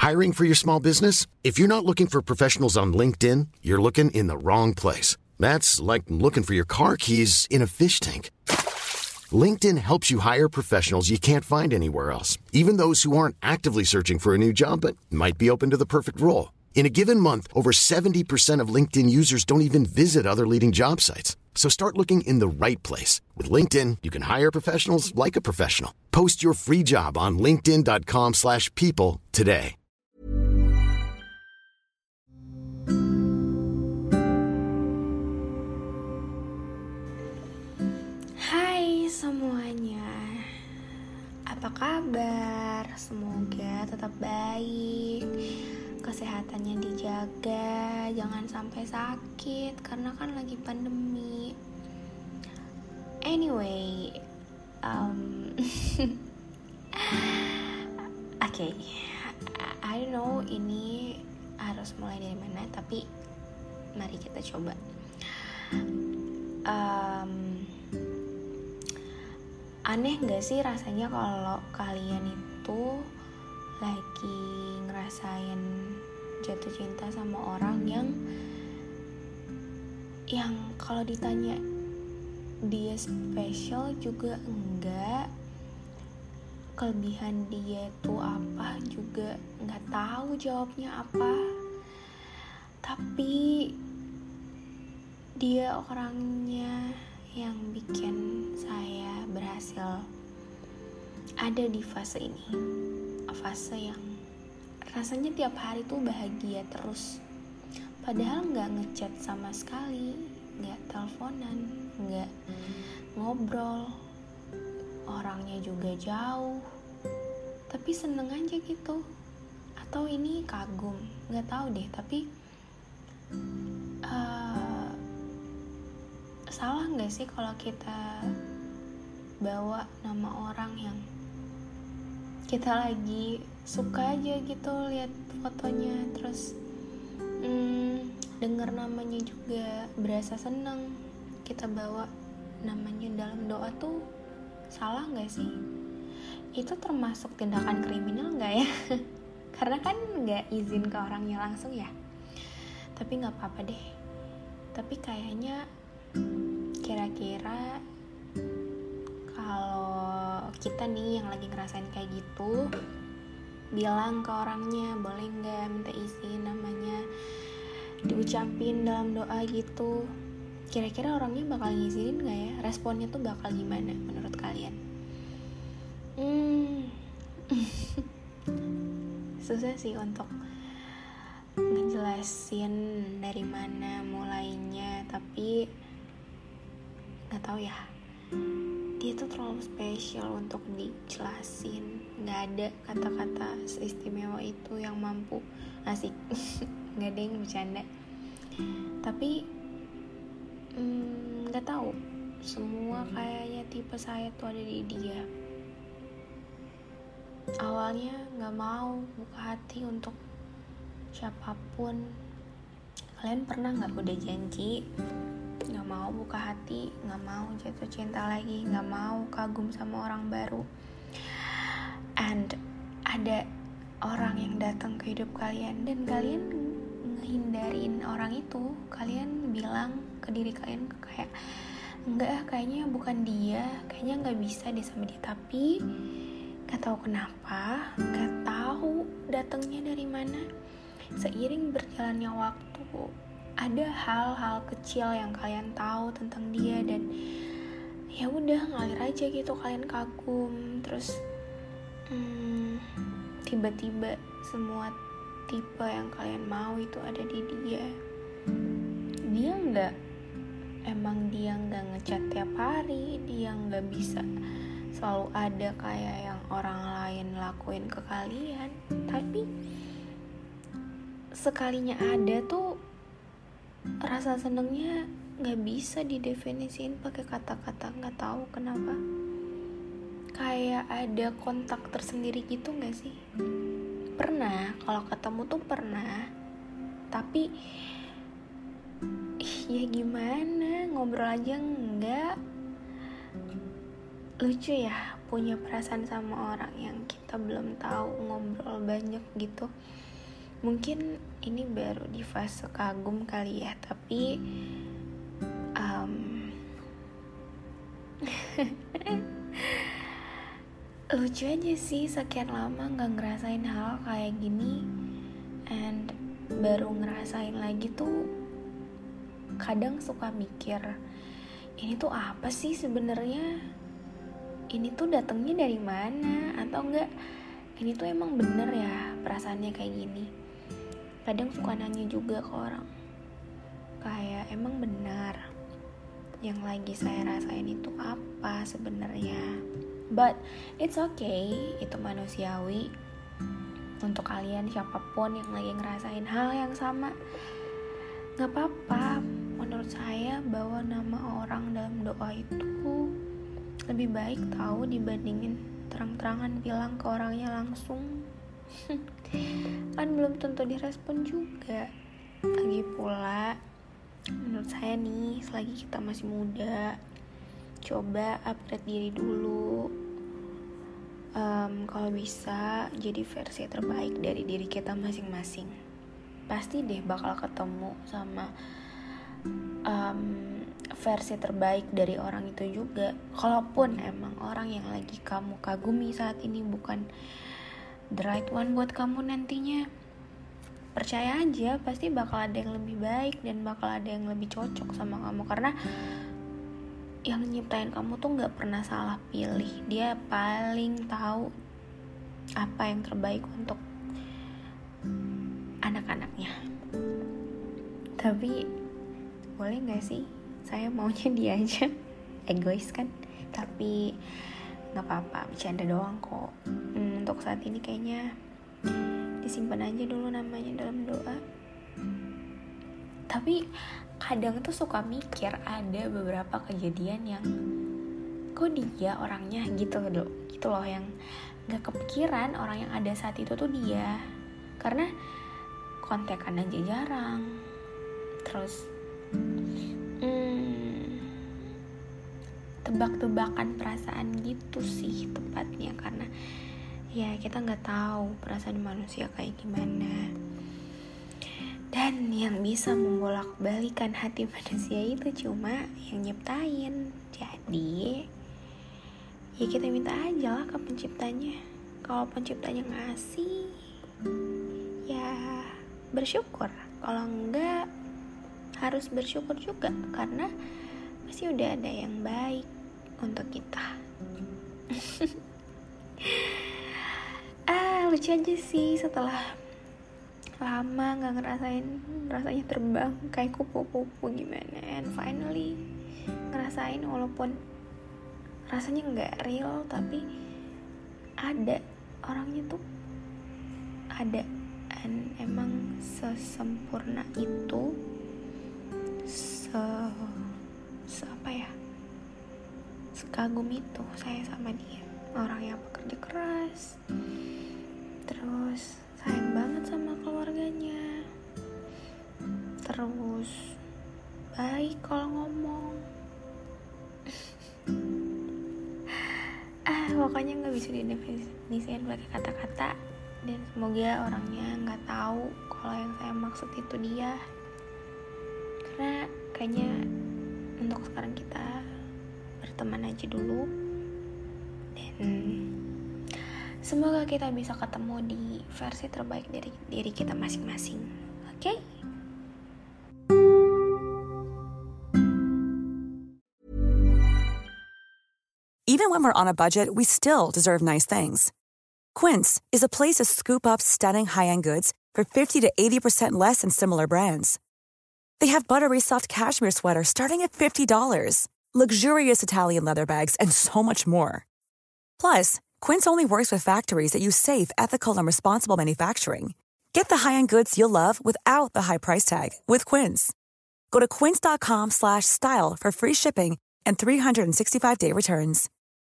Hiring for your small business? If you're not looking for professionals on LinkedIn, you're looking in the wrong place. That's like looking for your car keys in a fish tank. LinkedIn helps you hire professionals you can't find anywhere else, even those who aren't actively searching for a new job but might be open to the perfect role. In a given month, over 70% of LinkedIn users don't even visit other leading job sites. So start looking in the right place. With LinkedIn, you can hire professionals like a professional. Post your free job on linkedin.com/people today. Hai semuanya, apa kabar? Semoga tetap baik, kesehatannya dijaga, jangan sampai sakit karena kan lagi pandemi. Anyway, okay, I don't know ini harus mulai dari mana, tapi mari kita coba. Aneh gak sih rasanya kalau kalian itu lagi ngerasain jatuh cinta sama orang yang kalau ditanya dia spesial juga enggak, kelebihan dia itu apa juga nggak tahu jawabnya apa, tapi dia orangnya yang bikin saya berhasil ada di fase ini, fase yang rasanya tiap hari tuh bahagia terus, padahal nggak ngechat sama sekali, nggak teleponan, nggak ngobrol, orangnya juga jauh, tapi seneng aja gitu. Atau ini kagum, nggak tahu deh, tapi salah nggak sih kalau kita bawa nama orang yang kita lagi suka aja gitu lihat fotonya, terus denger namanya juga berasa seneng, kita bawa namanya dalam doa tuh salah nggak sih? Itu termasuk tindakan kriminal nggak ya? Karena kan nggak izin ke orangnya langsung ya. Tapi nggak apa-apa deh. Tapi kayaknya kira-kira kalau kita nih yang lagi ngerasain kayak gitu, bilang ke orangnya, boleh nggak minta izin namanya diucapin dalam doa gitu. Kira-kira orangnya bakal ngizinin nggak ya? Responnya tuh bakal gimana menurut kalian? Susah sih untuk ngejelasin dari mana mulainya, tapi nggak tahu ya. Dia tuh terlalu spesial untuk dijelasin. Nggak ada kata-kata seistimewa itu yang mampu asik. Nggak ada yang bercanda. Tapi nggak tahu. Semua kayaknya tipe saya tuh ada di dia. Awalnya nggak mau buka hati untuk siapapun. Kalian pernah nggak udah janji nggak mau buka hati, nggak mau jatuh cinta lagi, nggak mau kagum sama orang baru, and ada orang yang datang ke hidup kalian dan kalian ngehindarin orang itu. Kalian bilang ke diri kalian kayak enggak, kayaknya bukan dia, kayaknya nggak bisa deh sama dia, tapi nggak tahu kenapa, nggak tahu datangnya dari mana. Seiring berjalannya waktu, ada hal-hal kecil yang kalian tahu tentang dia dan ya udah ngalir aja gitu, kalian kagum. Terus tiba-tiba semua tipe yang kalian mau itu ada di dia. Dia nggak ngechat tiap hari, dia nggak bisa selalu ada kayak yang orang lain lakuin ke kalian, tapi sekalinya ada tuh rasa senengnya nggak bisa didefinisiin pakai kata-kata. Nggak tahu kenapa, kayak ada kontak tersendiri gitu nggak sih? Pernah, kalau ketemu tuh pernah, tapi ya gimana, ngobrol aja enggak. Lucu ya, punya perasaan sama orang yang kita kita belum tahu ngobrol banyak gitu. Mungkin ini baru di fase kagum kali ya, tapi lucu aja sih sekian lama gak ngerasain hal kayak gini, and baru ngerasain lagi tuh kadang suka mikir, ini tuh apa sih sebenarnya? Ini tuh datangnya dari mana? Atau enggak, ini tuh emang bener ya perasaannya kayak gini? Kadang suka nanya juga ke orang, kayak emang benar yang lagi saya rasain itu apa sebenarnya? But it's okay, itu manusiawi. Untuk kalian siapapun yang lagi ngerasain hal yang sama, gak apa-apa. Menurut saya bawa nama orang dalam doa itu lebih baik tahu dibandingin terang-terangan bilang ke orangnya langsung. Kan belum tentu direspon juga. Lagi pula menurut saya nih, selagi kita masih muda, coba upgrade diri dulu. Kalau bisa jadi versi terbaik dari diri kita masing-masing. Pasti deh bakal ketemu sama versi terbaik dari orang itu juga. Kalaupun emang orang yang lagi kamu kagumi saat ini bukan the right one buat kamu nantinya, percaya aja pasti bakal ada yang lebih baik dan bakal ada yang lebih cocok sama kamu. Karena yang nyiptain kamu tuh gak pernah salah pilih. Dia paling tahu apa yang terbaik untuk anak-anaknya. Tapi boleh gak sih saya maunya dia aja? Egois kan? Tapi gak apa-apa, bercanda doang kok. Untuk saat ini kayaknya disimpan aja dulu namanya dalam doa. Tapi kadang tuh suka mikir ada beberapa kejadian yang kok dia orangnya gitu loh, yang gak kepikiran orang yang ada saat itu tuh dia. Karena kontekan aja jarang. Terus tebak-tebakan perasaan gitu sih tepatnya. Karena ya kita gak tahu perasaan manusia kayak gimana. Dan yang bisa membolak-balikan hati manusia itu cuma yang nyiptain. Jadi ya kita minta aja lah ke penciptanya. Kalau penciptanya ngasih, ya bersyukur. Kalau enggak, harus bersyukur juga. Karena pasti udah ada yang baik untuk kita. Lucu aja sih setelah lama gak ngerasain rasanya terbang kayak kupu-kupu gimana, and finally ngerasain walaupun rasanya gak real, tapi ada orangnya tuh ada, and emang sesempurna itu, sekagum itu saya sama dia. Orang yang bekerja keras, terus sayang banget sama keluarganya, terus baik kalau ngomong. Pokoknya gak bisa didefinisikan pakai kata-kata. Dan semoga orangnya gak tahu kalau yang saya maksud itu dia. Karena kayaknya untuk sekarang kita berteman aja dulu. Dan semoga kita bisa ketemu di versi terbaik dari diri kita masing-masing. Oke? Even when we're on a budget, we still deserve nice things. Quince is a place to scoop up stunning high-end goods for 50 to 80% less than similar brands. They have buttery soft cashmere sweaters starting at $50, luxurious Italian leather bags, and so much more. Plus, Quince only works with factories that use safe, ethical, and responsible manufacturing. Get the high-end goods you'll love without the high price tag with Quince. Go to quince.com/style for free shipping and 365-day returns.